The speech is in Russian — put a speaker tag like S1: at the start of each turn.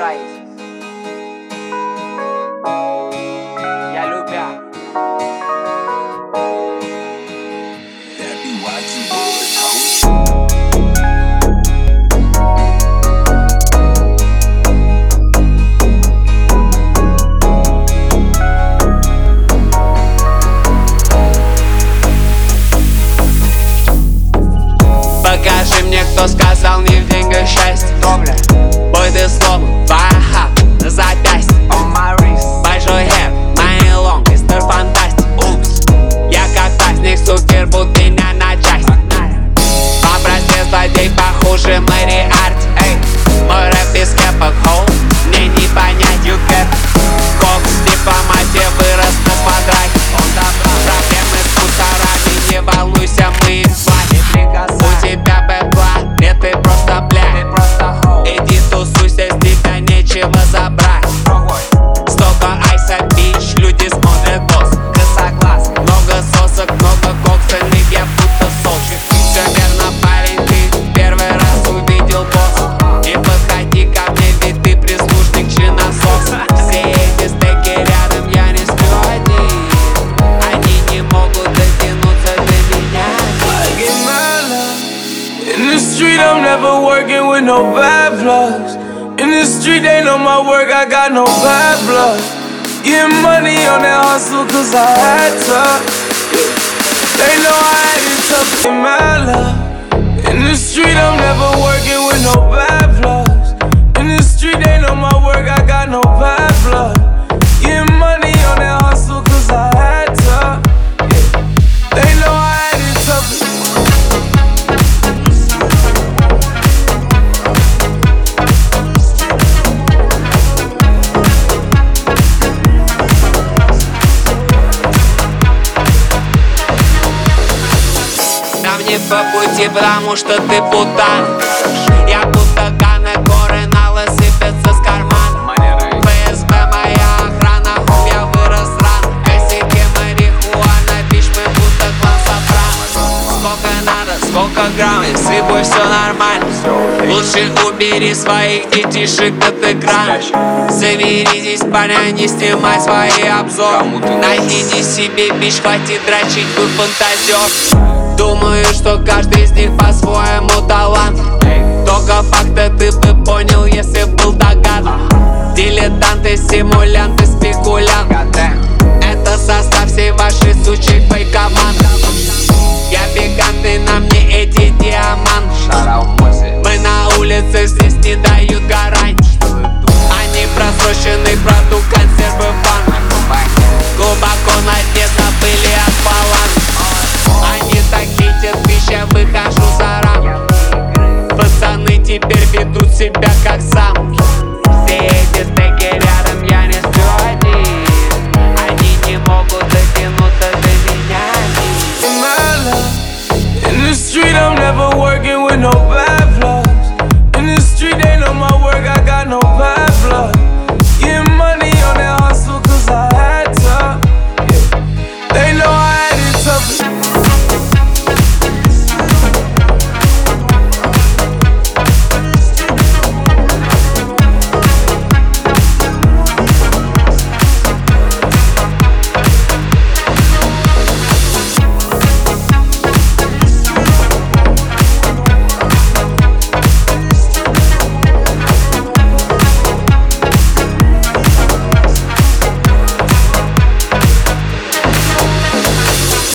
S1: Стараюсь. Я любя.
S2: Покажи мне, кто сказал не в деньгах счастье. Бой ты словно баха на запястье. Большой хэт, my long, Mr. Fantastic. Упс, я как праздник, сукер, будь меня на части. Попросил злодей похуже Мэри Арти. Мой рэп без кэпок, хоу, мне не понять, you get. Кокс, дипломатия вырос на квадрате. Проблемы с мусорами, не волнуйся, мы их платим. У тебя бэкла, нет, ты просто бля. Иди тусуйся, с тебя нечего забрать. Столько айса, бич, люди смотрят босс. Косоглаз, много сосок, много коксельных, я будто солчик. Все верно, парень, ты первый раз увидел босс. Не подходи ко мне, ведь ты прислужник чиносос. Все эти стейки рядом, я не сплю один. Они не могут дотянуться до меня.
S3: In the street, I'm never working with no bad blood. In the street, they know my work, I got no bad blood. Getting money on that hustle, cause I had to. They know I had it tough in my love. In the street, I'm never working with no bad blood. In the street, they know my work, I got no bad blood. Getting money on that hustle, cause I had to. They know I had it tough.
S2: Нам не по пути, потому что ты путан. Я будто Ганы, горы налы сыпятся с кармана. ФСБ моя охрана, хом, я вырос рано. Косяки марихуана, бич, мы будто клан Сопрано. Сколько надо, сколько грамм, и с рыбой все нормально. Лучше убери своих детишек от экрана. Заберитесь, парня, не снимай свои обзоры. Найдите себе бич, хватит дрочить, вы фантазер. Думаю, что каждый из них по